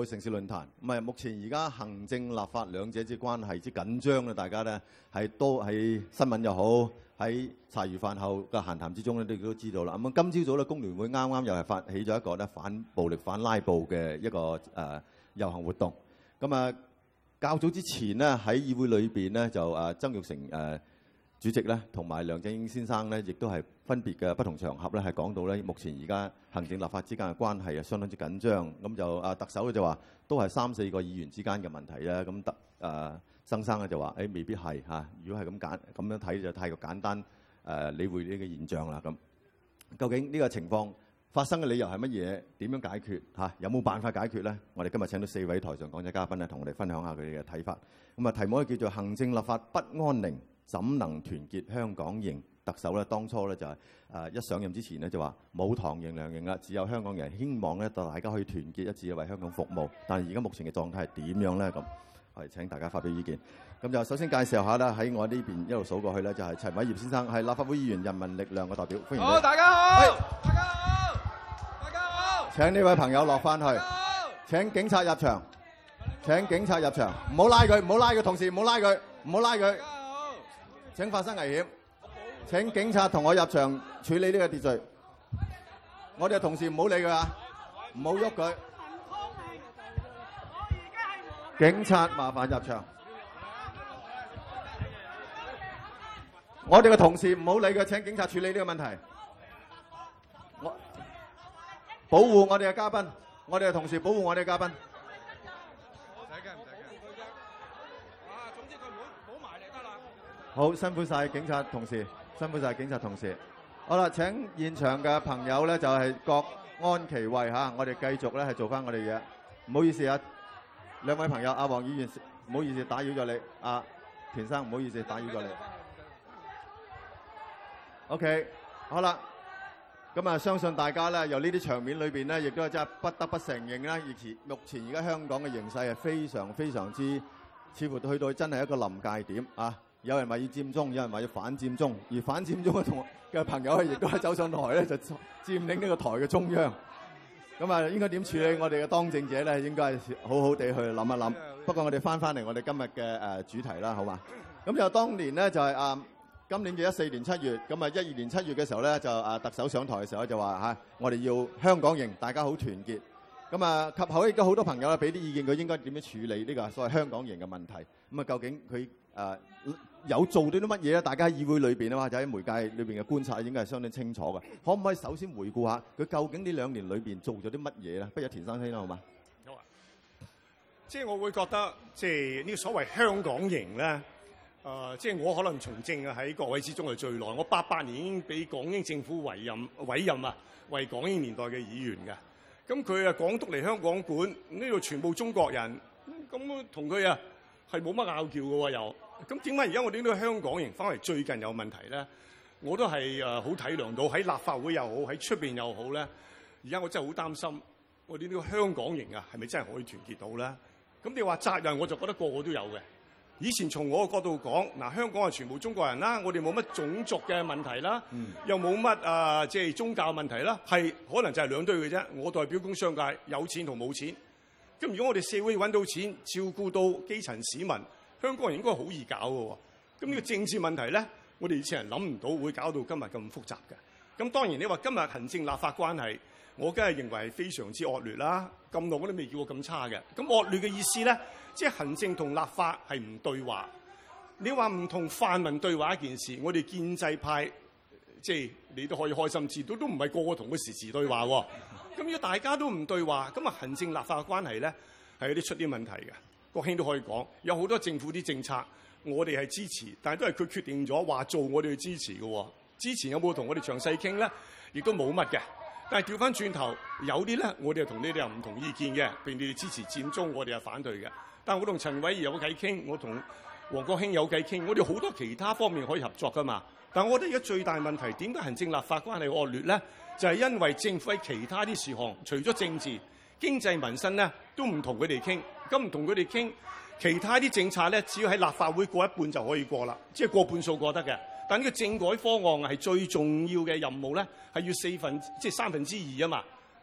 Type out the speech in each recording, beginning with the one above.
城市論壇。咁啊，目前而家行政立法兩者之關係之緊張咧，大家咧係都喺新聞又好，喺茶餘飯後嘅閒談之中咧，你都知道啦。咁今朝早咧，工聯會啱啱又係發起咗一個咧反暴力、反拉布嘅一個遊行活動。咁啊，較早之前呢，喺議會裏邊咧就曾鈺成主席咧同埋梁振英先生咧，亦都係分別嘅不同場合咧，係講到咧目前而家行政立法之間嘅關係係相當之緊張。咁就特首就話都係3-4個議員之間嘅問題啦。咁曾生咧就話未必係嚇。如果係咁樣睇就太過簡單理會呢個現象啦。咁究竟呢個情況發生嘅理由係乜嘢？點樣解決嚇？有冇辦法解決咧？我哋今日請到4位台上講者嘉賓咧，同我哋分享下佢哋嘅睇法。咁啊，題目咧叫做行政立法不安寧，怎能團結香港營？特首咧當初咧就係一上任之前咧就話冇唐營梁營啦，只有香港人，希望咧大家可以團結一致為香港服務。但係而家目前嘅狀態係點樣咧？咁我哋請大家發表意見。咁就首先介紹下啦，喺我呢邊一路數過去咧，就係陳偉業先生，係立法會議員人民力量嘅代表，歡迎你。 好，大家好，大家好，大家好。 請呢位朋友落翻去。請警察入場。請警察入場，唔好拉佢，唔好拉佢，同事唔好拉佢，唔好拉佢。請發生危險。請警察同我入場處理呢個秩序。我哋嘅同事唔好理佢啊，唔好喐佢。警察麻煩入場。我哋嘅同事唔好理佢，請警察處理呢個問題。保護我哋嘅嘉賓，我哋嘅同事保護我哋嘅嘉賓。 總之佢唔好埋嚟得啦。 好，辛苦晒警察同事，辛苦晒警察同事。好啦，請現場嘅朋友咧就係各安其位嚇，我哋繼續咧係做翻我哋嘢。唔好意思啊，兩位朋友，阿黃議員唔好意思打擾咗你，阿田生唔好意思打擾咗你。OK， 好啦，咁啊，相信大家咧由呢啲場面裏邊咧，亦都係真係不得不承認啦，目前而家香港嘅形勢係非常非常之，似乎去到真係一個臨界點啊！有人話要佔中，有人話要反佔中，而反佔中嘅朋友亦都係走上台咧，就佔領呢個台嘅中央。咁啊，應該點處理我哋嘅當政者咧？應該係好好地去諗一諗。不過我哋翻嚟我哋今日嘅主題啦，好嘛？咁就當年咧就係今年嘅14年7月，咁啊12年7月嘅時候咧，就特首上台嘅時候就話我哋要香港營，大家好團結。咁啊，及後亦都好多朋友咧俾啲意見，佢應該點樣處理呢個所謂香港營嘅問題。咁啊，究竟佢有做到啲乜嘢咧？大家喺議會裏邊啊，或者喺媒介裏邊嘅觀察應該係相當清楚嘅。可唔可以首先回顧下佢究竟呢2年裏邊做咗啲乜嘢咧？不如田生先啦，好嘛？ 好啊。即係我會覺得，即係呢個所謂香港營咧。即係我可能從政喺各位之中係最耐，我88年已經俾港英政府委任啊，為港英年代嘅議員嘅。咁佢港督嚟香港管，呢度全部中國人，咁同佢係冇乜拗撬嘅喎又。咁點解而家我哋呢個香港營翻嚟最近有問題咧？我都係好體諒到喺立法會又好，喺出邊又好咧。而家我真係好擔心，我哋呢個香港營係咪真係可以團結到咧？咁你話責任，我就覺得個個都有嘅。以前從我嘅角度講，香港係全部中國人啦，我哋冇乜種族嘅問題啦，又冇乜即係宗教問題啦，係可能就係兩堆嘅啫。我代表工商界，有錢同冇錢。咁如果我哋社會揾到錢，照顧到基層市民，香港人應該好易搞嘅喎。咁呢個政治問題咧，我哋以前人諗唔到會搞到今日咁複雜嘅。咁當然你話今日行政立法關係，我梗係認為係非常之惡劣啦。咁耐我都未見過咁差嘅。咁惡劣嘅意思咧？即係行政同立法係唔對話。你話唔同泛民對話一件事，我哋建制派即係你都可以開心知道，都唔係個個同佢時對話喎。咁如果大家都唔對話，咁啊行政立法嘅關係咧係有啲出啲問題嘅。國興都可以講，有好多政府啲政策我哋係支持，但係都係佢決定咗話做，我哋去支持嘅。之前有冇同我哋詳細傾咧？亦都冇乜嘅。但係調翻轉頭，有啲咧我哋同你哋又唔同意見嘅，譬如你哋支持佔中，我哋係反對嘅。但我同陳偉業有偈傾，我同黃國興有偈傾，我哋好多其他方面可以合作噶嘛。但我覺得而家最大問題點解行政立法關係惡劣咧？就係因為政府喺其他啲事項，除咗政治、經濟民生咧，都唔同佢哋傾。咁唔同佢哋傾，其他啲政策咧，只要喺立法會過一半就可以過啦，即係過半數過得嘅。但呢個政改方案係最重要嘅任務咧，係要3分之2啊嘛。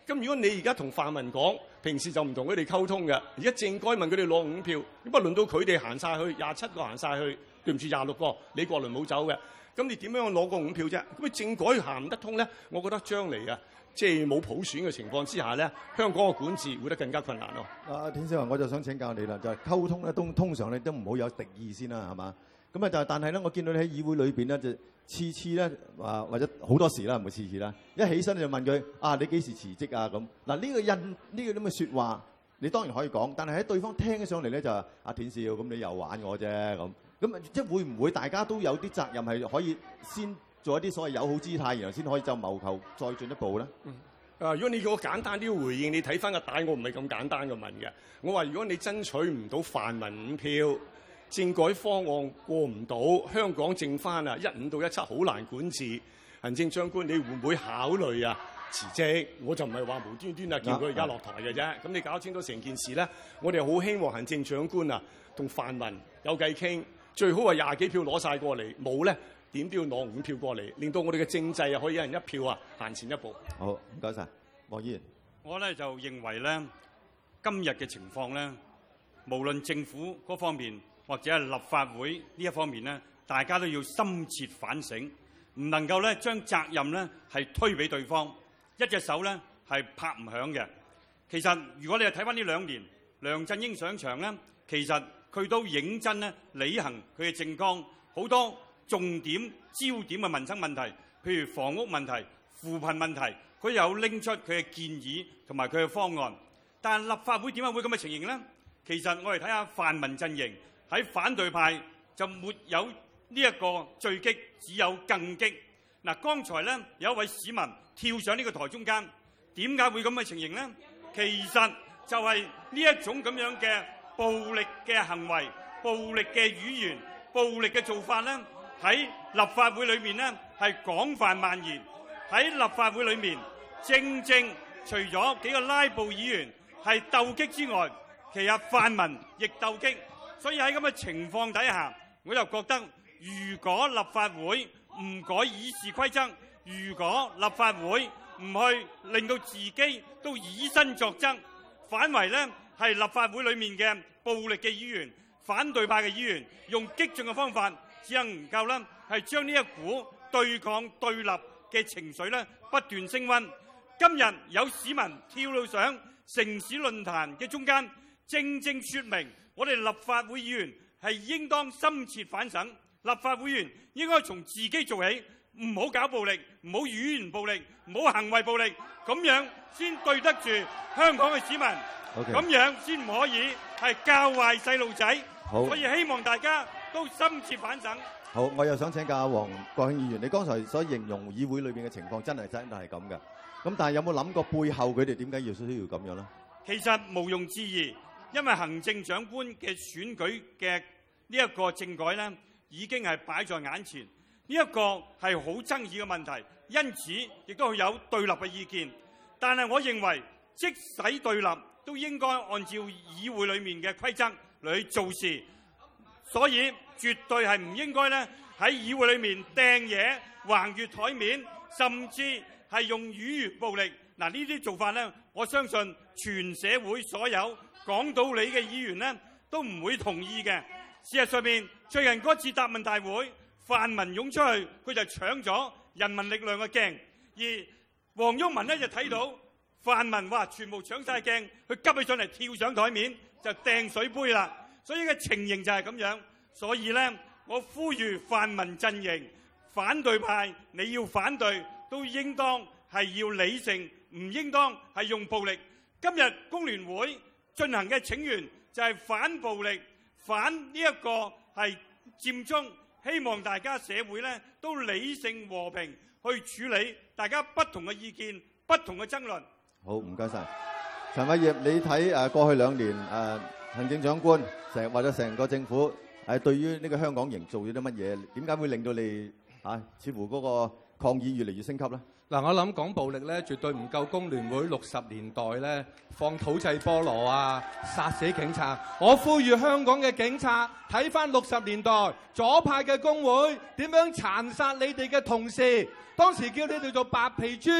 咁如果你而家同泛民講，平時就唔同佢哋溝通嘅，而家政改問佢哋攞5票，咁不輪到佢哋行晒去27個行晒去，對唔住26個，李國麟冇走嘅，咁你點樣攞個5票啫？咁你政改行唔得通咧？我覺得將嚟啊，即係冇普選嘅情況之下咧，香港嘅管治會得更加困難咯。 田少雲，我就想請教你啦，就係溝通咧，通常你都唔好有敵意先啦，係嘛？咁啊就但係咧，我見到你喺議會裏邊咧，就次次咧或者好多時啦，唔係次次啦，一起身就問佢啊，你幾時辭職啊？咁嗱呢個咁嘅説話，你當然可以講，但係喺對方聽起上嚟咧就阿田少，咁你又玩我啫咁即係會唔會大家都有啲責任係可以先做一啲所謂友好姿態，然後先可以就謀求再進一步咧？ 如果你叫我簡單啲回應，你睇翻個帶，我唔係咁簡單嘅問嘅。我話如果你爭取唔到泛民5票，政改方案過唔到，香港剩翻15到17好難管治。行政長官，你會唔會考慮辭職？我就唔係話無端端叫佢而家落台嘅啫。咁你搞清楚成件事咧，我哋好希望行政長官同泛民有計傾，最好係20幾票攞晒過嚟，冇咧點都要攞5票過嚟，令到我哋嘅政制可以一人1票行前一步。 好，唔該晒，黃議員。 我咧就認為咧，今日嘅情況咧，無論政府嗰方面，或者係立法會呢一方面咧，大家都要深切反省，唔能夠咧將責任咧係推俾對方，一隻手咧係拍唔響嘅。其實如果你係睇翻呢2年，梁振英上場咧，其實佢都認真咧履行佢嘅政綱，好多重點焦點嘅民生問題，譬如房屋問題、扶貧問題，佢有拎出佢嘅建議同埋佢嘅方案。但係立法會點解會咁嘅情形呢？其實我哋睇下泛民陣營。喺反對派就沒有呢一個墜擊，只有更擊。嗱，剛才咧有一位市民跳上呢個台中間，點解會咁嘅情形呢？其實就係呢一種咁樣嘅暴力嘅行為、暴力嘅語言、暴力嘅做法咧，喺立法會裏面咧係廣泛蔓延。喺立法會裏面，正除咗幾個拉布議員係鬥擊之外，其實泛民亦鬥擊。所以喺咁嘅情況底下，我就覺得，如果立法會唔改議事規則，如果立法會唔去令到自己都以身作則，反為呢係立法會裏面嘅暴力嘅議員、反對派嘅議員，用激進嘅方法，只能夠呢係將呢一股對抗對立嘅情緒呢不斷升溫。今日有市民跳到上城市論壇嘅中間，正說明我哋立法會議員係應當深切反省，立法會議員應該從自己做起，唔好搞暴力，唔好語言暴力，唔好行為暴力，咁樣先對得住香港嘅市民，咁樣先唔可以係教壞細路仔。所以希望大家都深切反省。 好，我又想請教黃國興議員，你剛才所形容議會裏邊嘅情況真係係咁嘅，咁但係有冇諗過背後佢哋點解需要咁樣咧？ 其實毋庸置疑。因為行政長官嘅選舉嘅呢一個政改呢，已經係擺在眼前，呢一個係好爭議嘅問題，因此亦都有對立嘅意見。但係我認為，即使對立，都應該按照議會裏面嘅規則嚟去做事，所以絕對係唔應該呢喺議會裏面掟嘢、橫越台面，甚至係用語言暴力。嗱，呢啲做法呢，我相信全社會所有講道理嘅議員呢都唔會同意嘅。事實上面，最近嗰次答問大會，泛民湧出去，佢就搶咗人民力量嘅鏡，而黃毓民呢就睇到泛民話全部搶晒鏡，佢急起上嚟跳上台面就掟水杯啦。所以嘅情形就係咁樣。所以呢，我呼籲泛民陣營、反對派，你要反對都應當係要理性，唔應當係用暴力。今日工聯會進行嘅請願就係反暴力、反呢一個係佔中，希望大家社會呢都理性和平去處理大家不同嘅意見、不同嘅爭論。 好，唔該晒。陳偉業，你睇過去2年行政長官或者成個政府對於呢個香港營做咗啲乜嘢？點解會令到你似乎嗰個抗議越嚟越升級呢？ 嗱，我諗講暴力咧，絕對唔夠工聯會60年代咧放土製菠蘿啊，殺死警察。我呼籲香港嘅警察睇翻60年代左派嘅工會點樣殘殺你哋嘅同事，當時叫你哋做白皮豬，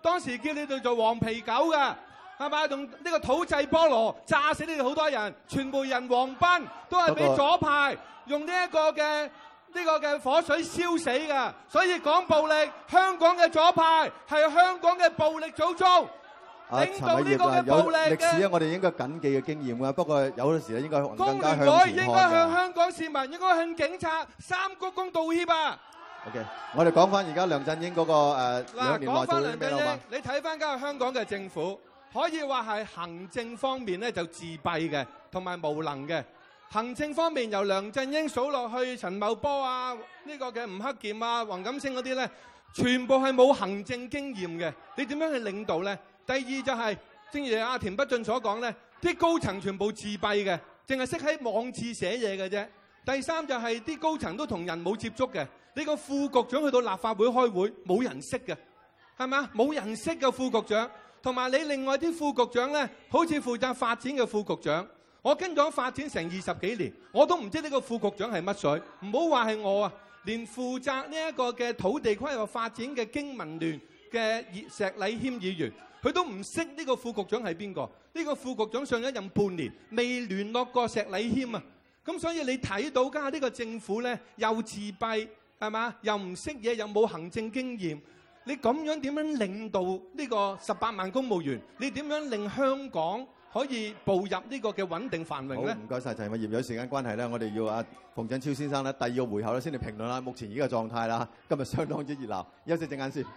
當時叫你哋做黃皮狗㗎，係咪？用呢個土製菠蘿炸死你哋好多人，傳媒人黃斌都係俾左派用呢一個嘅火水燒死㗎。所以講暴力，香港嘅左派係香港嘅暴力祖宗。領導呢個嘅暴力嘅歷史咧，我哋應該緊記嘅經驗㗎。不過有陣時咧，應該工更加聯會應向前看該向㗎。 香港市民，應該向警察三鞠躬道歉啊！ OK，我哋講翻而家梁振英嗰個2年內講做咗啲咩啦嘛？ 你睇翻今日香港嘅政府，可以話係行政方面咧就自閉嘅，同埋無能嘅。行政方面由梁振英數落去，陳茂波啊，呢個嘅吳克儉啊、黃錦星嗰啲咧，全部係冇行政經驗嘅。你點樣去領導咧？第二就係、正如阿田北俊所講咧，啲高層全部自閉嘅，淨係識喺網誌寫嘢嘅啫。第三就係、啲高層都同人冇接觸嘅。你個副局長去到立法會開會，冇人識嘅，係咪啊？冇人識嘅副局長，同埋你另外啲副局長咧，好似負責發展嘅副局長，我跟咗發展成20幾年，我都唔知呢個副局長係乜水。唔好話係我啊，連負責呢一個嘅土地規劃發展嘅經民聯嘅石禮謙議員，佢都唔識呢個副局長係邊個？呢個副局長上咗任半年，未聯絡過石禮謙啊！咁所以你睇到家下呢個政府咧，又自閉。係嘛？又唔識嘢，又冇行政經驗。你咁樣點樣領導呢個18萬公務員？你點樣令香港可以步入呢個嘅穩定繁榮咧？ 好，唔該晒陳偉業。有時間關係咧，我哋要阿馮振超先生咧第2個回合咧先嚟評論啦。目前而家嘅狀態啦，今日相當之熱鬧。休息陣間先。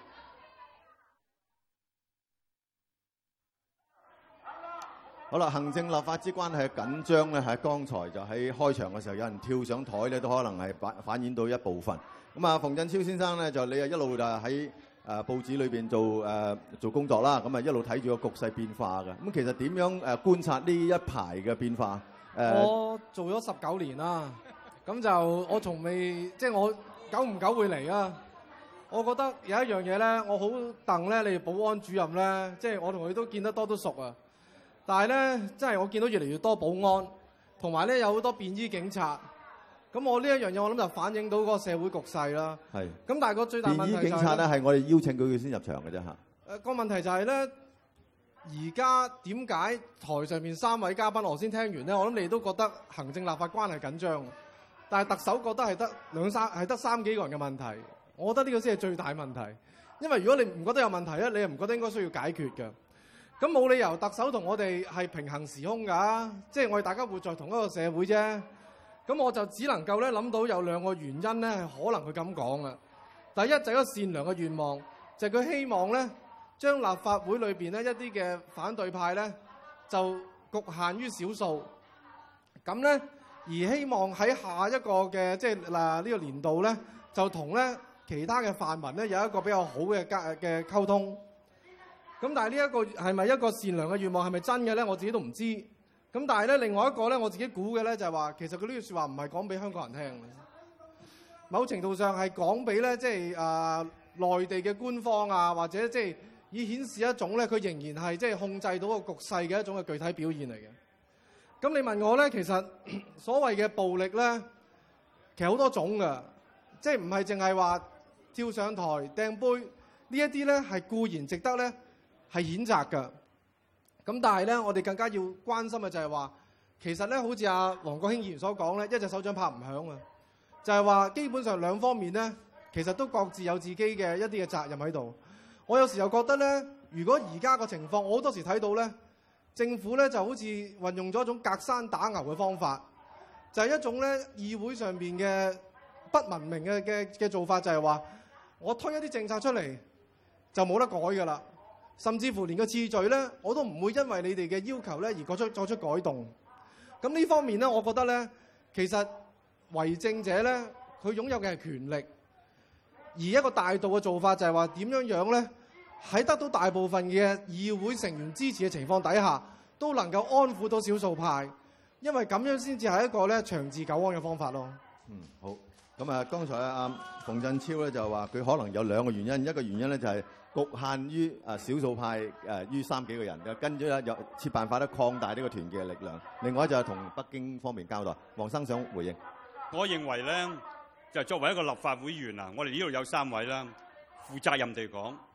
好啦，行政立法之關係緊張咧，喺剛才就喺開場嘅時候，有人跳上台咧，都可能係反映到一部分。咁啊，馮振超先生咧，就你啊一路就喺報紙裏邊做工作啦，咁啊一路睇住個局勢變化嘅。咁其實點樣觀察呢一排嘅變化？ 我做咗19年啦，咁就我從未即係我久唔久會嚟啊。我覺得有一樣嘢咧，我好戥咧，你哋保安主任咧，即係我同佢都見得多都熟啊。但係咧，真係我見到越嚟越多保安，同埋咧有好多便衣警察。咁我呢一樣嘢，我諗就反映到嗰個社會局勢啦。係。咁但係個最大問題就係便衣警察咧，係我哋邀請佢先入場嘅啫嚇。 個問題就係咧，而家點解台上面3位嘉賓我先聽完咧？我諗你都覺得行政立法關係緊張，但係特首覺得係得3幾個人嘅問題。我覺得呢個先係最大問題。因為如果你唔覺得有問題咧，你又唔覺得應該需要解決嘅。咁冇理由特首同我哋係平行時空㗎，即係我哋大家活在同一個社會啫。咁我就只能夠咧諗到有2個原因咧，係可能佢咁講嘅。第一就係一個善良嘅願望，就係佢希望咧將立法會裏邊咧一啲嘅反對派咧就局限於少數，咁咧而希望喺下一個嘅即係呢個年度咧就同咧其他嘅泛民咧有一個比較好嘅溝通。咁但係呢一個係咪一個善良嘅願望，係咪真嘅咧？我自己都唔知。咁但係咧，另外一個咧，我自己估嘅咧就係話，其實佢呢句説話唔係講俾香港人聽嘅，某程度上係講俾咧即係內地嘅官方啊，或者即係以顯示一種咧佢仍然係即係控制到個局勢嘅一種嘅具體表現嚟嘅。咁你問我咧，其實所謂嘅暴力咧，其實好多種㗎，即係唔係淨係話跳上台掟杯呢一啲咧，係固然值得咧係譴責㗎。咁但係咧，我哋更加要關心嘅就係話，其實咧，好似阿黃國興議員所講咧，一隻手掌拍唔響啊！就係話基本上兩方面咧，其實都各自有自己嘅一啲嘅責任喺度。我有時又覺得咧，如果而家個情況，我好多時睇到咧，政府咧就好似運用咗一種隔山打牛嘅方法，就係一種咧議會上邊嘅不文明嘅做法，就係話我推一啲政策出嚟就冇得改㗎啦。甚至乎連個次序咧，我都唔會因為你哋嘅要求咧而作出改動。咁呢方面咧，我覺得咧，其實為政者咧，佢擁有嘅係權力，而一個大道嘅做法就係話點樣咧，喺得到大部分嘅議會成員支持嘅情況底下，都能夠安撫到少數派，因為咁樣先至係一個咧長治久安嘅方法咯。 好。咁啊，剛才阿馮振超咧就話佢可能有2個原因，一個原因咧就係局限於少數派於3幾個人，跟住咧又設辦法咧擴大呢個團結嘅力量。另外就係同北京方面交代。黃生想回應。 我認為咧，就作為一個立法會議員啊，我哋呢度有3位啦，負責任地講，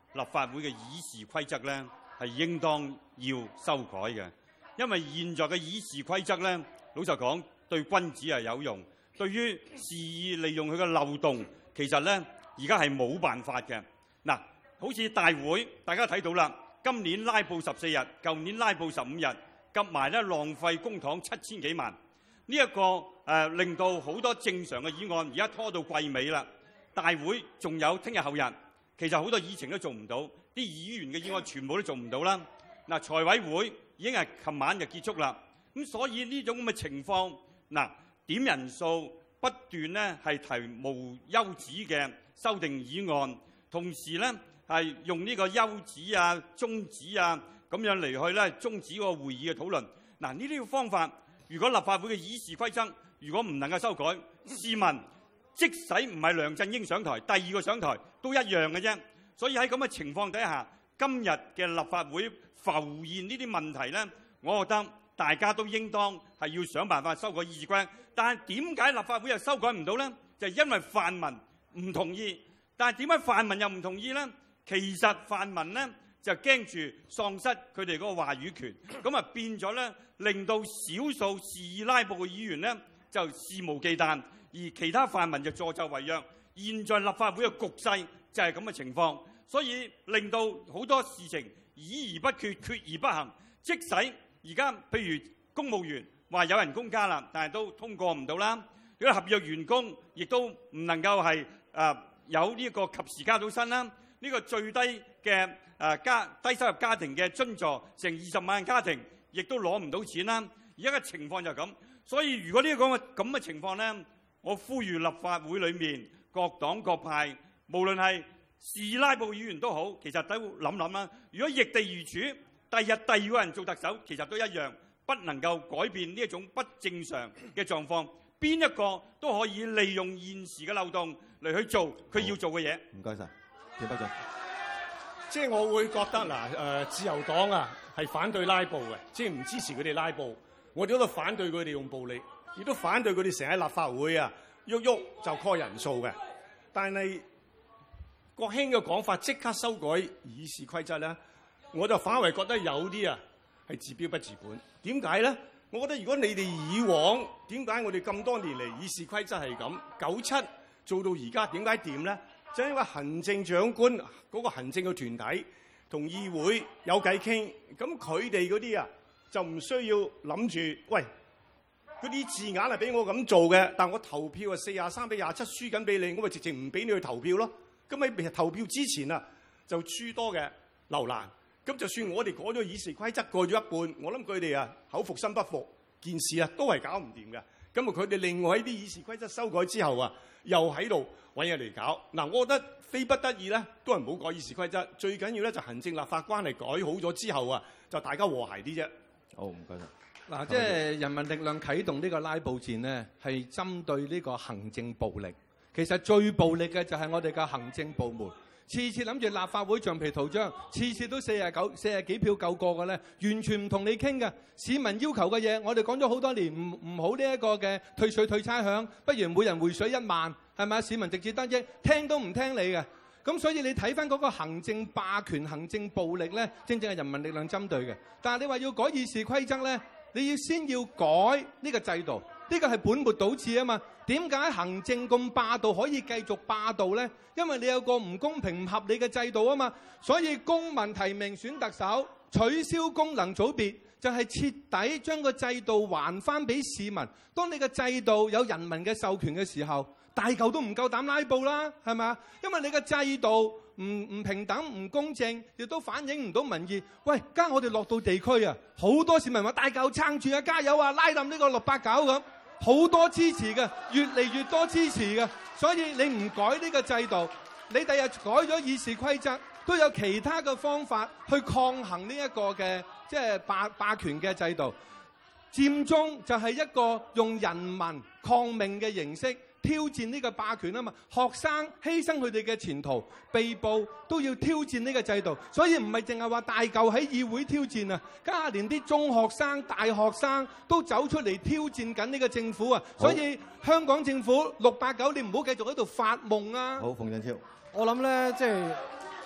立法會嘅議事規則咧係應當要修改嘅，因為現在嘅議事規則咧，老實講對君子係有用，對於肆意利用佢嘅漏洞，其實咧而家係冇辦法嘅。嗱，好似大會，大家睇到啦，今年拉布14日，舊年拉布15日，夾埋咧浪費公帑7000幾萬，呢一個令到好多正常嘅議案而家拖到季尾啦。大會仲有聽日後日，其實好多議程都做唔到，啲議員嘅議案全部都做唔到啦。嗱，財委會已經係琴晚就結束啦，咁所以呢種咁嘅情況，嗱，點人數不斷咧係提無休止嘅修訂議案，同時咧係用呢個休止啊、中止啊咁樣嚟去咧終止個會議嘅討論。嗱，呢啲個方法，如果立法會嘅議事規則如果唔能夠修改，試問即使唔係梁振英上台，第二個上台都一樣嘅啫。所以喺咁嘅情況底下，今日嘅立法會浮現呢啲問題咧，我覺得大家都應當係要想辦法修改議事規則。但係點解立法會又修改唔到咧？就係因為泛民唔同意。但係點解泛民又唔同意咧？其實泛民咧就驚住喪失佢哋嗰個話語權，咁啊變咗咧令到少數肆意拉布嘅議員咧就肆無忌憚，而其他泛民就助紂為虐。現在立法會嘅局勢就係咁嘅情況，所以令到好多事情議而不決，決而不行。即使而家譬如公務員話有人工加啦，但係都通過唔到啦。如果合約員工亦都唔能夠係有呢個及時加到薪啦。呢個最低嘅低收入家庭嘅津助成20萬家庭，亦都攞唔到錢啦。而家嘅情況就係咁，所以如果呢個咁嘅情況咧，我呼籲立法會裏面各黨各派，無論係是拉布議員都好，其實都諗諗啦。如果易地而處，第二個人做特首，其實都一樣，不能夠改變呢一種不正常嘅狀況。邊一個都可以利用現時嘅漏洞嚟去做佢要做嘅嘢。 唔該晒，田北俊。 即係我會覺得嗱，自由黨啊係反對拉布嘅，即係唔支持佢哋拉布。我哋都反對佢哋用暴力，亦都反對佢哋成日喺立法會啊喐喐就 call 人數嘅。但係國興嘅講法即刻修改議事規則咧，我就反為覺得有啲啊係治標不治本。點解咧？我覺得如果你哋以往點解我哋咁多年嚟議事規則係咁，97做到而家點解掂咧？就因為行政長官嗰個行政嘅團體同議會有偈傾，咁佢哋嗰啲啊就唔需要諗住，喂，嗰啲字眼係俾我咁做嘅，但我投票啊43-27輸緊俾你，我咪直情唔俾你去投票咯。咁喺投票之前啊就諸多嘅留難。咁就算我哋改咗議事規則過咗一半，我諗佢哋啊口服心不服，件事啊都係搞唔掂嘅。咁啊佢哋另外喺啲議事規則修改之後啊，又喺度揾嘢嚟搞。嗱，我覺得非不得已咧，都係唔好改議事規則。最緊要咧就行政立法關係改好咗之後啊，就大家和諧啲啫。 好，唔該晒。 嗱，即係人民力量啟動呢個拉布戰呢，係針對呢個行政暴力。其實最暴力嘅就係我哋嘅行政部門。次次諗住立法會橡皮圖章，次次都40幾票夠過嘅咧，完全唔同你傾嘅。市民要求嘅嘢，我哋講咗好多年，唔好呢一個嘅退稅退差餉，不如每人回水1萬，係咪？市民直接得益，聽都唔聽你嘅。咁所以你睇翻嗰個行政霸權、行政暴力咧，正正係人民力量針對嘅。但係你話要改議事規則咧，你要先要改呢個制度。呢個係本末倒置啊嘛！點解行政咁霸道可以繼續霸道呢？因為你有個唔公平、唔合理嘅制度啊嘛！所以公民提名選特首，取消功能組別，就係徹底將個制度還翻俾市民。當你嘅制度有人民嘅授權嘅時候，大嚿都唔夠膽拉布啦，係咪啊？因為你嘅制度唔平等、唔公正，亦都反映唔到民意。喂，家我哋落到地區啊，好多市民話大嚿撐住啊，加油啊，拉冧呢個689咁。好多支持嘅，越嚟越多支持嘅，所以你唔改呢個制度，你第日改咗議事規則，都有其他嘅方法去抗衡呢一個嘅即係霸權嘅制度。佔中就係一個用人民抗命嘅形式挑戰呢個霸權啊嘛！學生犧牲佢哋嘅前途，被捕都要挑戰呢個制度，所以唔係淨係話大嚿喺議會挑戰啊，家下連啲中學生、大學生都走出嚟挑戰緊呢個政府啊！所以香港政府689，你唔好繼續喺度發夢啊！ 好，馮振超， 我諗咧，即係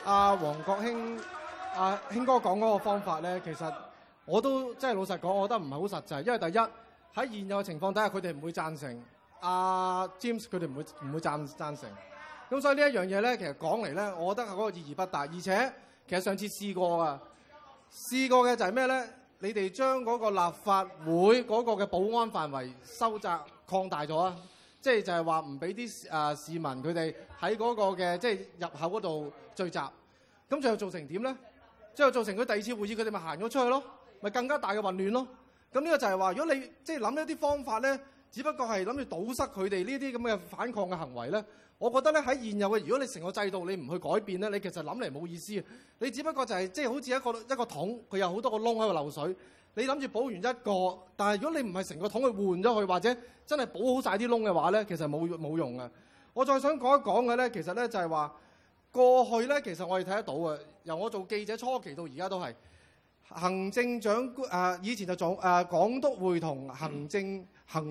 阿黃國興興哥講嗰個方法咧，其實我都即係老實講，我覺得唔係好實際，因為第一喺現有嘅情況底下，佢哋唔會贊成。阿 James 佢哋唔會贊成。咁所以呢一樣嘢咧，其實講嚟咧，我覺得嗰個意義不大。而且其實上次試過嘅就係咩咧？你哋將嗰個立法會嗰個嘅保安範圍收窄擴大咗啊！即係就係話唔俾啲市民佢哋喺嗰個嘅即係入口嗰度聚集。咁最後造成點咧？最後造成佢第二次會議佢哋咪行咗出去咯，咪更加大嘅混亂咯。咁呢個就係話，如果你即係諗一啲方法咧，只不過係諗住堵塞佢哋呢啲咁嘅反抗嘅行為咧，我覺得咧喺現有嘅，如果你成個制度你唔去改變咧，你其實諗嚟冇意思。你只不過就係即係好似一個桶，佢有好多個窿喺度漏水。你諗住補完一個，但係如果你唔係成個桶去換咗佢，或者真係補好晒啲窿嘅話咧，其實冇用嘅。我再想講一講嘅咧，其實咧就係話過去咧，其實我哋睇得到嘅，由我做記者初期到而家都係行政長官以前就做港督會同行政會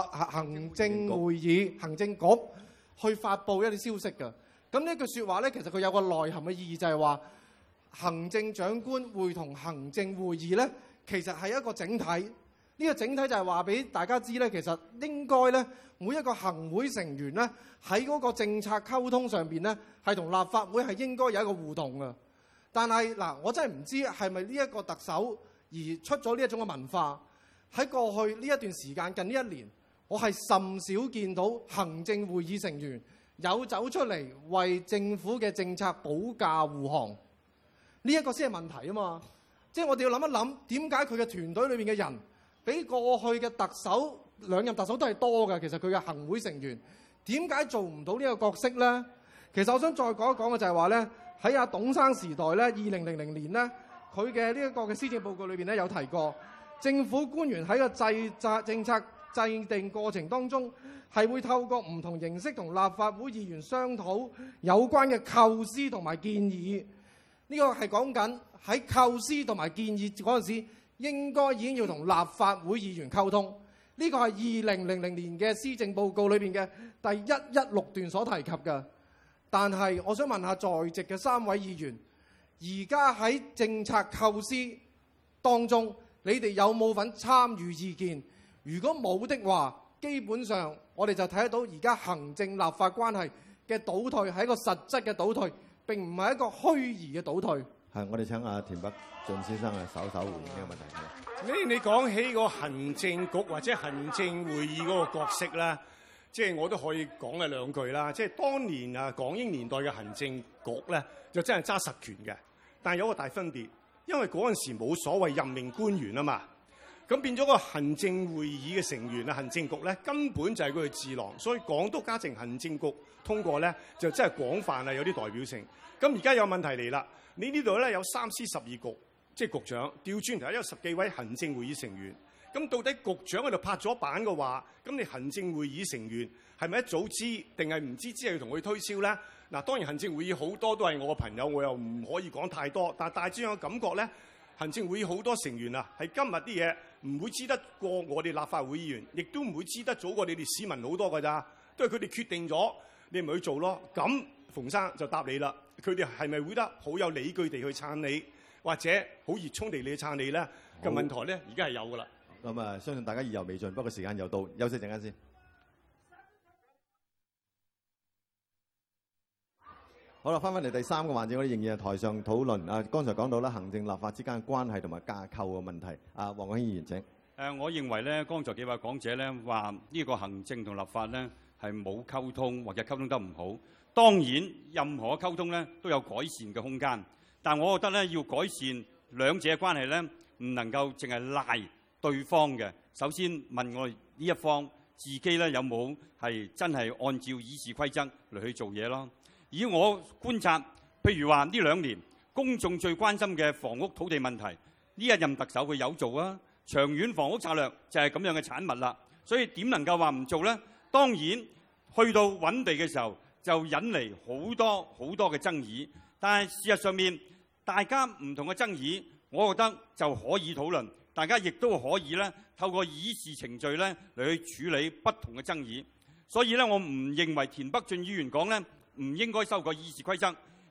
議行政局去發布一啲消息嘅。咁呢句説話咧，其實佢有個內涵嘅意義，就係話行政長官會同行政會議咧，其實係一個整體。呢個整體就係話俾大家知咧，其實應該咧每一個行會成員咧喺嗰個政策溝通上邊咧，係同立法會係應該有一個互動嘅。但係嗱，我真係唔知係咪呢一個特首而出咗呢一種嘅文化。喺過去呢一段時間，近呢一年，我係甚少見到行政會議成員有走出嚟為政府嘅政策保駕護航。呢一個先係問題啊嘛！即係我哋要諗一諗，點解佢嘅團隊裏面嘅人比過去嘅特首兩任特首都係多嘅？其實佢嘅行會成員點解做唔到呢個角色呢？其實我想再講一講嘅就係話呢，喺阿董生時代呢，2000年呢，佢嘅呢一個嘅施政報告裏邊呢，有提過，政府官員喺個政策制定過程當中係會透過唔同形式同立法會議員商討有關嘅構思同埋建議。呢個係講緊喺構思同埋建議嗰陣時，應該已經要同立法會議員溝通。呢個係2000年嘅施政報告裏邊嘅第116段所提及嘅。但係我想問下在席嘅3位議員，而家喺政策構思當中，你哋有冇份參與意見？如果冇的話，基本上我哋就睇得到而家行政立法關係嘅倒退係一個實質嘅倒退，並唔係一個虛擬嘅倒退。 係，我哋請阿田北俊先生稍稍回應呢個問題。 你講起個行政局或者行政會議嗰個角色咧，即係我都可以講嘅兩句啦。即係當年港英年代嘅行政局咧，就真係揸實權嘅，但係有個大分別，因為嗰陣時冇所謂任命官員啊嘛，咁變咗個行政會議嘅成員行政局咧根本就係佢嘅智囊，所以港督加成行政局通過咧就真係廣泛有啲代表性。咁而家有問題嚟啦，你呢度咧有3司12局，即係局長調轉頭有10幾位行政會議成員。咁到底局長喺度拍咗板嘅話，咁你行政會議成員係咪一早知定係唔知只係要同佢推銷咧？嗱，當然行政會議好多都係我嘅朋友，我又唔可以講太多。但係大致上嘅感覺咧，行政會議好多成員係今日啲嘢唔會知得過我哋立法會議員，亦都唔會知得早過你哋市民好多㗎咋，都係佢哋決定咗，你咪去做咯。咁馮生就答你啦，佢哋係咪會得好有理據地去撐你，或者好熱衷地去撐你咧？嘅問題咧，而家係有㗎啦。 咁相信大家意猶未盡，不過時間又到，休息陣間先。好啦，翻返嚟第3個環節，我哋仍然係台上討論。剛才講到啦，行政立法之間嘅關係同埋架構嘅問題。黃國興議員請。 我認為咧，剛才幾位講者咧話呢個行政同立法咧係冇溝通或者溝通得唔好。當然，任何溝通咧都有改善嘅空間，但我覺得咧要改善兩者嘅關係咧，唔能夠淨係賴對方嘅。首先問我哋呢一方自己咧有冇係真係按照議事規則嚟去做嘢咯。以我觀察，譬如話呢2年公眾最關心嘅房屋土地問題，呢一任特首佢有做啊。長遠房屋策略就係咁樣嘅產物啦。所以點能夠話唔做呢？當然去到揾地嘅時候就引嚟好多嘅爭議。但係事實上面大家唔同嘅爭議，我覺得就可以討論。大家亦都可以咧透過議事程序咧嚟去處理不同嘅爭議。所以咧，我唔認為田北俊議員講咧唔應該修改議事規則，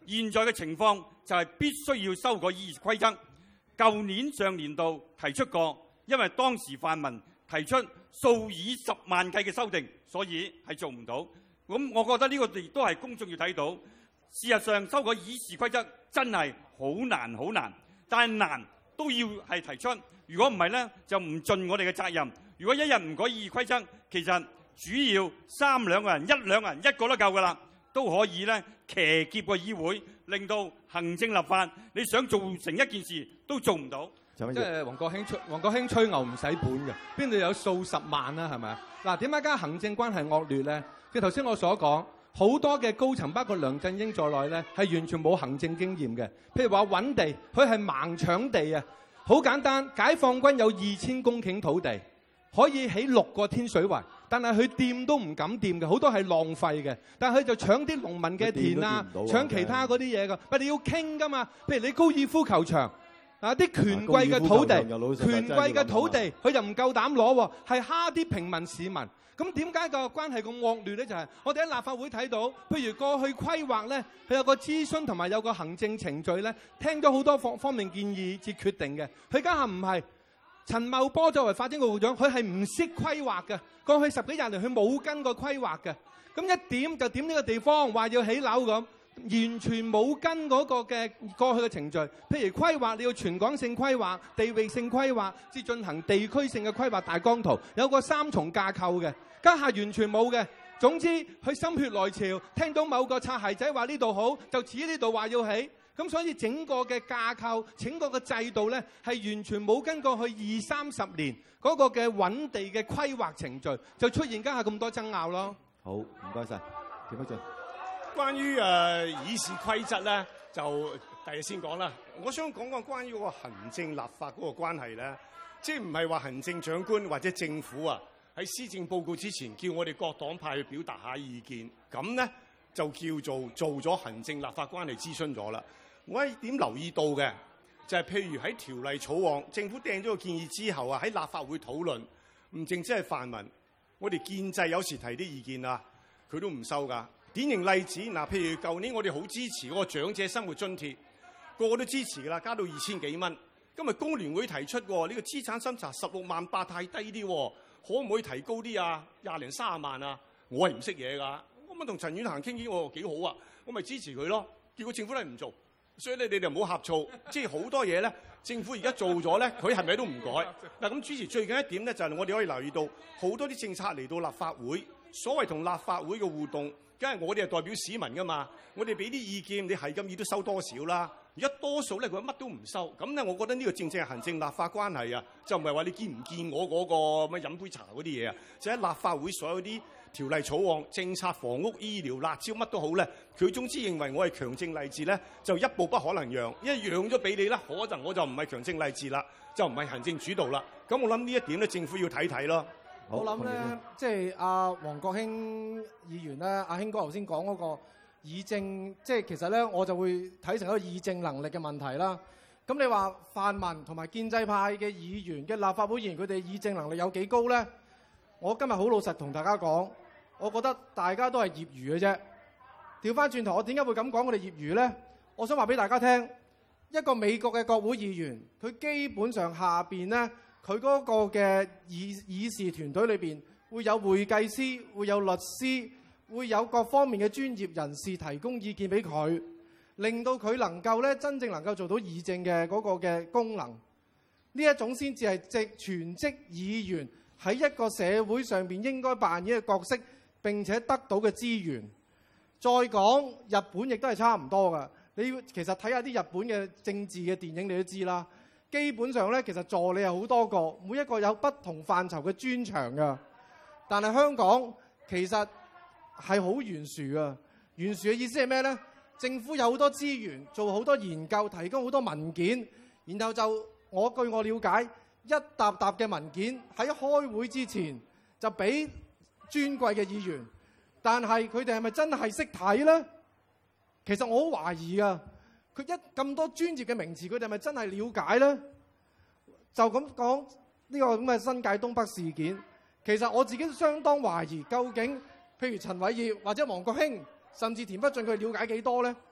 現在嘅情況就係必須要修改議事規則。舊年上年度提出過，因為當時泛民提出數以10萬計嘅修訂，所以係做唔到。咁我覺得呢個亦都係公眾要睇到。事實上，修改議事規則真係好難好難，但係難都要係提出。如果唔係呢，就唔盡我哋嘅責任。如果一日唔改議事規則，其實主要3兩個人、1兩個人一個都夠㗎啦，都可以呢騎劫個議會，令到行政立法你想做成一件事都做唔到。 即係黃國興吹牛唔使本嘅，邊度有數十萬啊？係咪啊？嗱，點解而家行政關係惡劣咧？即係頭先我所講，好多嘅高層，包括梁振英在內咧，係完全冇行政經驗嘅。譬如話揾地，佢係盲搶地啊！好簡單，解放軍有2000公頃土地，可以起6個天水圍，但係佢掂都唔敢掂嘅，好多係浪費嘅。但係佢就搶啲農民嘅田啊，搶其他嗰啲嘢㗎。但係你要傾㗎嘛？譬如你高爾夫球場。啊！啲權貴嘅土地，權貴嘅土地，佢就唔夠膽攞喎，係蝦啲平民市民。咁點解個關係咁惡劣咧？就係我哋喺立法會睇到，譬如過去規劃咧，佢有個諮詢同埋有個行政程序咧，聽咗好多方面建議至決定嘅。佢家下唔係陳茂波作為發展局局長，佢係唔識規劃嘅。過去10幾廿年，佢冇跟過規劃嘅。咁一點就點呢個地方，話要起樓咁。完全冇跟嗰個嘅過去嘅程序，譬如規劃你要全港性規劃、地域性規劃，至進行地區性嘅規劃大綱圖，有個3重架構嘅，家下完全冇嘅。總之佢心血來潮，聽到某個擦鞋仔話呢度好，就指呢度話要起，咁所以整個嘅架構、整個嘅制度咧，係完全冇跟過去20-30年嗰個嘅揾地嘅規劃程序，就出現家下咁多爭拗咯。 好，唔該晒，田北俊。 關於議事規則咧，就第日先講啦。我想講講關於嗰個行政立法嗰個關係咧，即係唔係話行政長官或者政府啊喺施政報告之前叫我哋各黨派去表達下意見，咁咧就叫做咗行政立法關係諮詢咗啦。我一點留意到嘅就係譬如喺條例草案，政府掟咗個建議之後啊，喺立法會討論，唔淨止係泛民，我哋建制有時提啲意見啊，佢都唔收㗎。典型例子嗱，譬如舊年我哋好支持嗰個長者生活津貼，個個都支持㗎啦，加到2000幾蚊。今日工聯會提出呢個資產審查16萬8太低啲，可唔可以提高啲啊？20零30萬啊？我係唔識嘢㗎，我咪同陳婉嫻傾傾，我幾好啊，我咪支持佢咯。結果政府都係唔做，所以你哋唔好呷醋，即係好多嘢咧，政府而家做咗咧，佢係咪都唔改？嗱，咁主持最近一點咧，就係我哋可以留意到好多啲政策嚟到立法會，所謂同立法會嘅互動。梗係我哋係代表市民噶嘛，我哋俾啲意見，你係咁意都收多少啦？而家多數咧佢乜都唔收，咁咧我覺得呢個正正係行政立法關係啊，就唔係話你見唔見我嗰個乜飲杯茶嗰啲嘢啊，就喺立法會所有啲條例草案、政策、房屋、醫療、辣椒乜都好咧，佢總之認為我係強正勵治咧，就一步不可能讓，因為讓咗俾你啦，可能我就唔係強正勵治啦，就唔係行政主導啦。咁我諗呢一點咧，政府要睇睇咯。 我諗咧，即係阿黃國興議員咧，阿興哥頭先講嗰個議政，即係其實咧，我就會睇成一個議政能力嘅問題啦。咁你話泛民同埋建制派嘅議員嘅立法會議員，佢哋議政能力有幾高咧？我今日好老實同大家講，我覺得大家都係業餘嘅啫。調翻轉頭，我點解會咁講我哋業餘咧？我想話俾大家聽，一個美國嘅國會議員，佢基本上下邊咧。佢嗰個嘅議事團隊裏邊會有會計師，會有律師，會有各方面嘅專業人士提供意見俾佢，令到佢能夠咧真正能夠做到議政嘅嗰個嘅功能。呢一種先至係全職議員喺一個社會上邊應該扮演嘅角色，並且得到嘅資源。再講日本亦都係差唔多㗎。你其實睇下啲日本嘅政治嘅電影，你都知啦。基本上咧，其實助理係好多個，每一個有不同範疇嘅專長㗎。但係香港其實係好懸殊㗎。懸殊嘅意思係咩咧？政府有好多資源，做好多研究，提供好多文件，然後就據我了解，一沓沓嘅文件喺開會之前就俾尊貴嘅議員，但係佢哋係咪真係識睇咧？其實我好懷疑㗎。佢咁多專業嘅名詞，佢哋係咪真係了解咧？就咁講呢個咁嘅新界東北事件，其實我自己都相當懷疑，究竟譬如陳偉業或者黃國興，甚至田北俊，佢了解幾多咧？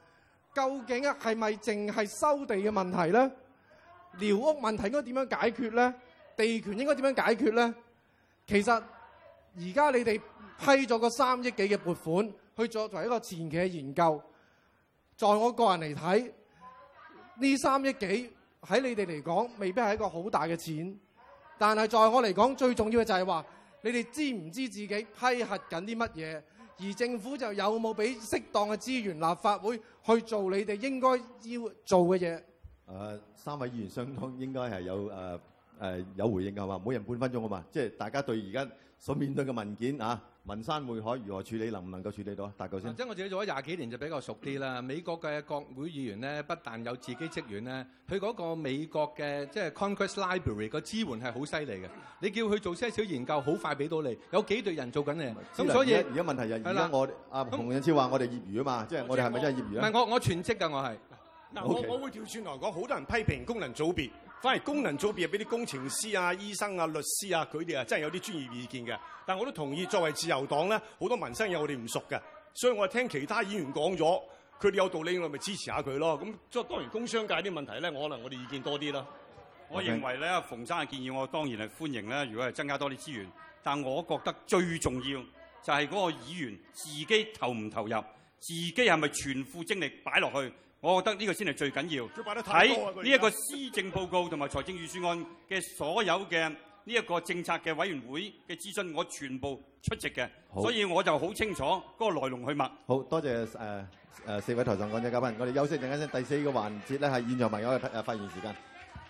究竟係咪淨係收地嘅問題咧？寮屋問題應該點樣解決咧？地權應該點樣解決咧？其實而家你哋批咗個3億幾嘅撥款去作為一個前期嘅研究，在我個人嚟睇，呢3億幾喺你哋嚟講未必係一個好大嘅錢，但係在我嚟講最重要嘅就係話，你哋知唔知自己批核緊啲乜嘢？而政府就有冇俾適當嘅資源立法會去做你哋應該要做嘅嘢 ？3位議員相當應該係有回應㗎嘛，每人半分鐘啊嘛，即係大家對而家所面對嘅文件啊，文山會海如何處理，能唔能夠處理到啊？大嚿先。 即係我自己做咗20幾年就比較熟啲啦。美國嘅國會議員咧，不但有自己職員咧，佢嗰個美國嘅即係 Congress Library 個支援係好犀利嘅。你叫佢做些少研究，好快俾到你。有幾隊人做緊嘅。咁所以而家問題係而家我洪印超話我哋業餘啊嘛，即係我哋係咪真係業餘啊？ 唔係我全職㗎，我係。 嗱，我會調轉來講，好多人批評功能組別，反而功能組別係俾啲工程師啊、醫生啊、律師啊，佢哋啊真係有啲專業意見嘅。但我都同意，作為自由黨咧，好多民生嘢我哋唔熟嘅，所以我聽其他議員講咗，佢哋有道理，我咪支持下佢咯。咁即係當然工商界啲問題咧，可能我哋意見多啲啦。 我認為咧，馮生嘅建議我當然係歡迎咧。如果係增加多啲資源，但我覺得最重要就係嗰個議員自己投唔投入，自己係咪全副精力擺落去。我覺得呢個先係最緊要。喺呢一個施政報告同埋財政預算案嘅所有嘅呢一個政策嘅委員會嘅諮詢，我全部出席嘅，所以我就好清楚嗰個來龍去脈。 好多謝4位台上講者嘉賓，我哋休息陣間先。第4個環節咧係現場朋友嘅發言時間。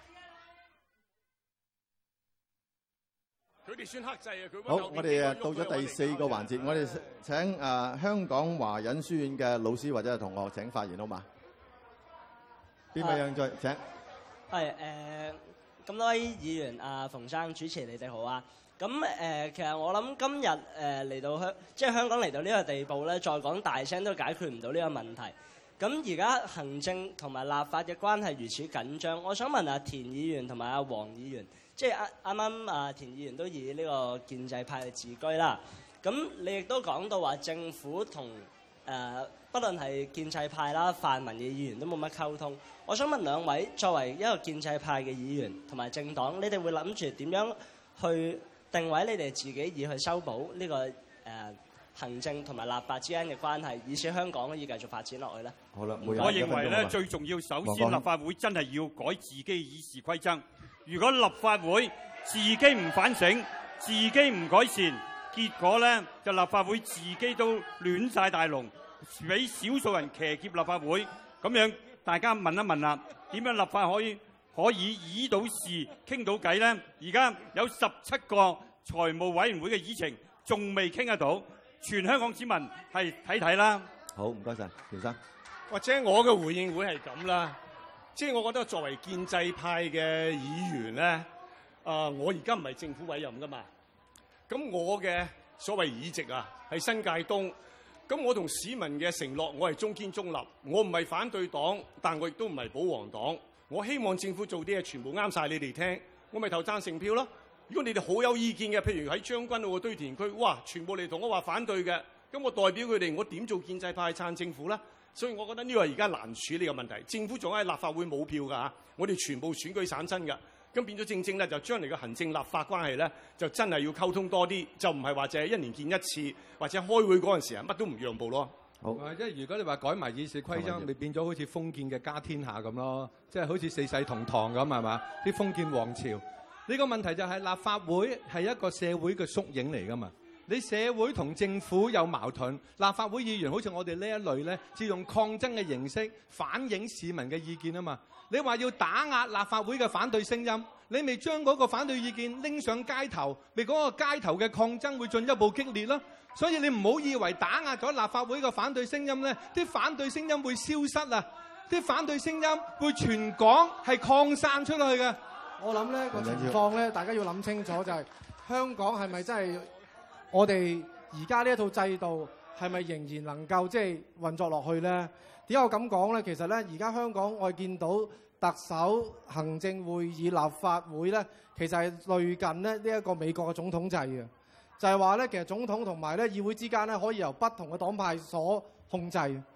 佢哋算克制啊！佢好，我哋到咗第4個環節，我哋請香港華仁書院嘅老師或者係同學請發言好嘛？邊位有興趣？請。 係咁多位議員馮生主持，你哋好啊！咁其實我諗今日嚟到香港嚟到呢個地步咧，再講大聲都解決唔到呢個問題。咁而家行政同埋立法嘅關係如此緊張，我想問下田議員同埋阿黃議員，即係啱啱田議員都以呢個建制派嚟自居啦。咁你亦都講到話政府同不論係建制派啦、泛民嘅議員都冇乜溝通。我想問兩位，作為一個建制派嘅議員同埋政黨，你哋會諗住點樣去定位你哋自己，以去修補呢個行政同埋立法之間嘅關係，以使香港可以繼續發展落去咧？ 好啦， 我認為咧最重要，首先立法會真係要改自己議事規則。如果立法會自己唔反省、自己唔改善，結果咧就立法會自己都亂晒大龍。俾少數人騎劫立法會，咁樣大家問一問啦，點樣立法可以議到事、傾到偈呢？而家有17個財務委員會嘅議程，仲未傾得到，全香港市民係睇啦。 好，唔該晒，田生。 或者我嘅回應會係咁啦，即係我覺得作為建制派嘅議員咧，我而家唔係政府委任噶嘛，咁我嘅所謂議席啊，係新界東。咁我同市民嘅承諾，我係中堅中立，我唔係反對黨，但我亦都唔係保皇黨。我希望政府做啲嘢全部啱晒你哋聽，我咪投贊成票咯。如果你哋好有意見嘅，譬如喺將軍澳嘅堆填區，哇，全部嚟同我話反對嘅，咁我代表佢哋，我點做建制派撐政府咧？所以我覺得呢個係而家難處理嘅問題。政府仲喺立法會冇票㗎嚇，我哋全部選舉產生㗎。咁變咗正咧，就將嚟嘅行政立法關係咧，就真係要溝通多啲，就唔係話淨係1年見一次，或者開會嗰陣時乜都唔讓步咯。 好， 即係如果你話改埋議事規則，咪變咗好似封建嘅家天下咁咯，即係好似四世同堂咁係嘛？啲封建王朝呢個問題就係立法會係一個社會嘅縮影嚟㗎嘛。你社會同政府有矛盾，立法會議員好似我哋呢一類咧，只用抗爭嘅形式反映市民嘅意見啊嘛。你話要打壓立法會嘅反對聲音，你咪將嗰個反對意見拎上街頭，咪嗰個街頭嘅抗爭會進一步激烈咯。所以你唔好以為打壓咗立法會嘅反對聲音咧，啲反對聲音會消失啊！啲反對聲音會全港係擴散出去嘅。 我諗呢個情況咧，大家要諗清楚就係香港係咪真係我哋而家呢一套制度係咪仍然能夠即係運作落去咧？點解我咁講咧？其實咧，而家香港我哋見到特首、行政會議、立法會咧，其實係類近咧呢一個美國嘅總統制嘅，就係話咧，其實總統同埋咧議會之間咧可以由不同嘅黨派所控制。咁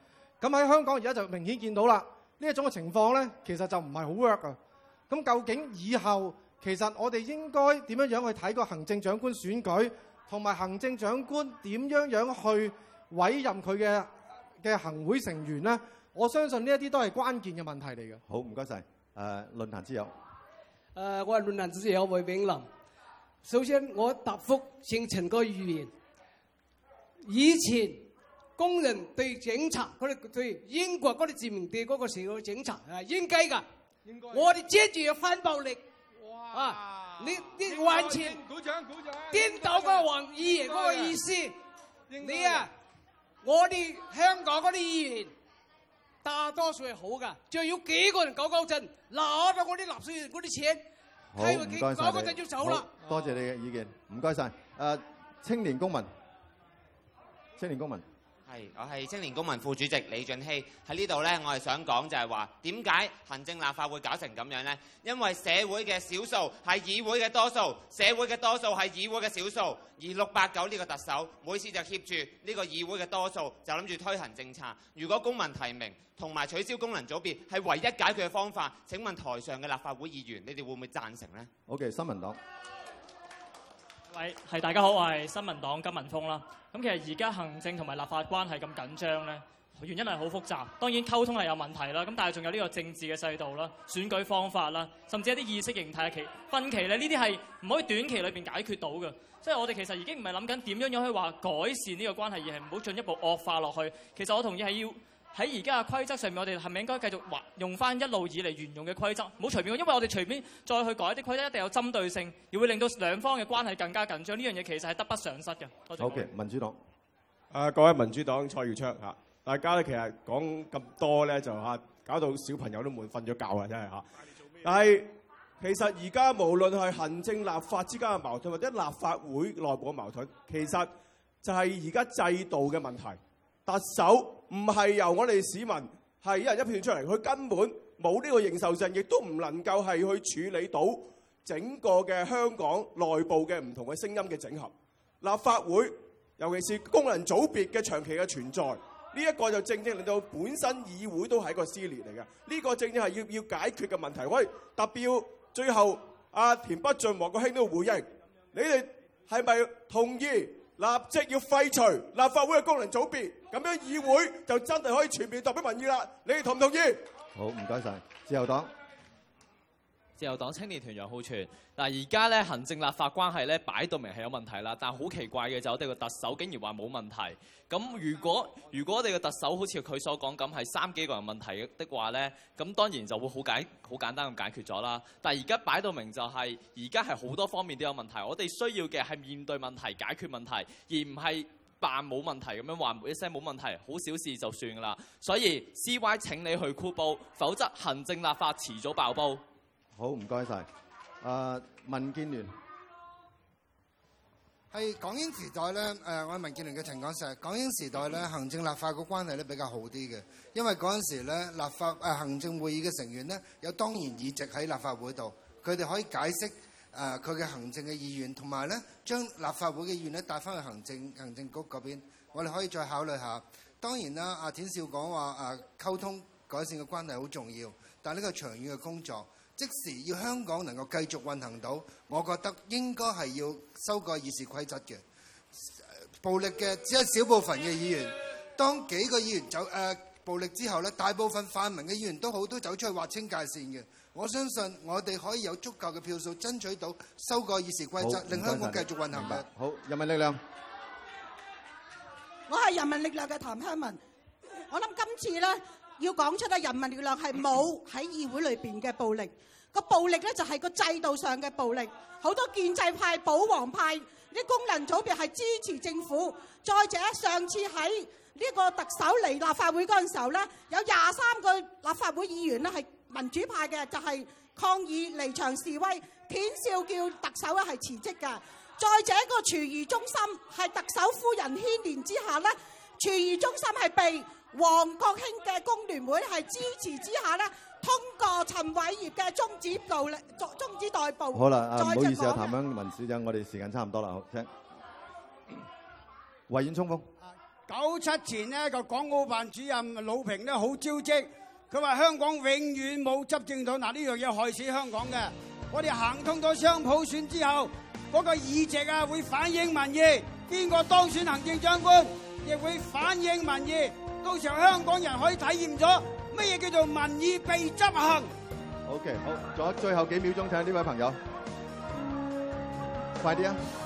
咁喺香港而家就明顯見到啦，呢一種嘅情況咧，其實就唔係好 work 啊。咁究竟以後其實我哋應該點樣去睇個行政長官選舉，同埋行政長官點樣去委任佢嘅行會成員咧？我相信呢一啲都係關鍵嘅問題嚟嘅。 好，唔該晒。論壇之友。 我係論壇之友魏炳林。首先，我答覆姓陳個議員。以前工人對警察，佢哋對英國嗰啲殖民地嗰個時候嘅警察係應該㗎。我哋接住要反暴力。啊！你完全顛倒個黃議員嗰個意思。你啊，我哋香港嗰啲議員大多數係好㗎，仲要幾個人搞震，攞咗我啲納稅人嗰啲錢， 好，唔該晒搞陣要走啦。 多謝你嘅意見，唔該晒。青年公民。 係，我係青年公民副主席李俊熙。喺呢度呢，我係想講就係話，點解行政立法會搞成咁樣呢？因為社會嘅少數係議會嘅多數，社會嘅多數係議會嘅少數。而689呢個特首每次就挾住呢個議會嘅多數，就諗住推行政策。如果公民提名同埋取消功能組別係唯一解決嘅方法，請問台上嘅立法會議員，你哋會唔會贊成呢？ OK， 新民黨。 喂，係大家好，我係新民黨金文峰啦。咁其實而家行政同埋立法關係咁緊張咧，原因係好複雜。當然溝通係有問題啦，咁但係仲有呢個政治嘅制度啦、選舉方法啦，甚至一啲意識形態嘅分歧咧，呢啲係唔可以短期裏邊解決到嘅。即係我哋其實已經唔係諗緊點樣可以話改善呢個關係，而係唔好進一步惡化落去。其實我同意係要喺而家嘅規則上面，我哋係咪應該繼續用翻一路以嚟沿用嘅規則，唔好隨便，因為我哋隨便再去改啲規則，一定有針對性，而會令到兩方嘅關係更加緊張。呢樣嘢其實係得不償失嘅。多謝。 好嘅，民主黨。 各位民主黨蔡耀昌嚇，大家咧其實講咁多咧就嚇，搞到小朋友都悶瞓咗覺啊！真係嚇。但係其實而家無論係行政立法之間嘅矛盾，或者立法會內部嘅矛盾，其實就係而家制度嘅問題。特首唔係由我哋市民係一人一票出嚟，佢根本冇呢個認受性，亦都唔能夠係去處理到整個嘅香港內部嘅唔同嘅聲音嘅整合。立法會尤其是功能組別嘅長期嘅存在，呢一個就正正令到本身議會都係一個撕裂嚟嘅。呢個正正係要解決嘅問題。我哋特別要最後阿田北俊、黃國興都回應，你哋係咪同意立即要廢除立法會嘅功能組別？咁樣議會就真係可以全面代表民意啦。你哋同唔同意？ 好，唔該晒。自由黨。 自由黨青年團楊浩全。嗱，而家咧行政立法關係咧擺到明係有問題啦，但係好奇怪嘅就我哋個特首竟然話冇問題。咁如果我哋個特首好似佢所講咁係3幾個人問題的話咧，咁當然就會好簡單咁解決咗啦。但係而家擺到明就係而家係好多方面都有問題，我哋需要嘅係面對問題、解決問題，而唔係扮冇問題咁樣話一聲冇問題，好小事就算㗎啦。所以 CY 請你去箍煲，否則行政立法遲早爆煲。 好，唔該晒。民建聯係港英時代咧，我係民建聯嘅陳廣石。港英時代咧，行政立法個關係咧比較好啲嘅，因為嗰陣時咧行政會議嘅成員咧有當然議席喺立法會度，佢哋可以解釋佢嘅行政嘅意願，同埋咧將立法會嘅意願咧帶翻去行政局嗰邊。我哋可以再考慮下。當然啦，阿田少講話溝通改善嘅關係好重要，但係呢個長遠嘅工作。即時要香港能夠繼續運行到，我覺得應該係要修改議事規則嘅。暴力嘅只係少部分嘅議員，當幾個議員走暴力之後咧，大部分泛民嘅議員都走出去劃清界線嘅。我相信我哋可以有足夠嘅票數爭取到修改議事規則，令香港繼續運行嘅。 好，人民力量。 我係人民力量嘅譚香文。我諗今次咧。要講出咧，人民力量係冇喺議會裏邊嘅暴力，個暴力咧就係個制度上嘅暴力。好多建制派、保皇派啲功能組別係支持政府。再者，上次喺呢個特首嚟立法會嗰陣時候咧，有23個立法會議員咧係民主派嘅，就係抗議離場示威，田少叫特首咧係辭職㗎。再者，個廚餘中心係特首夫人牽連之下咧，廚餘中心係被黃國興嘅工聯會係支持之下咧，通過陳偉業嘅終止待捕。 好啦，唔好意思啊，譚香文小姐，我哋時間差唔多啦，好，請維園衝鋒。 97前呢個港澳辦主任魯平呢好招積，佢話香港永遠冇執政黨，嗱呢樣嘢害死香港嘅。我哋行通咗雙普選之後，嗰個議席啊會反映民意，邊個當選行政長官亦會反映民意，到時候香港人可以體驗咗乜嘢叫做民意被執行。 OK， 好，仲有最後幾秒鐘，睇下呢位朋友，快啲啊！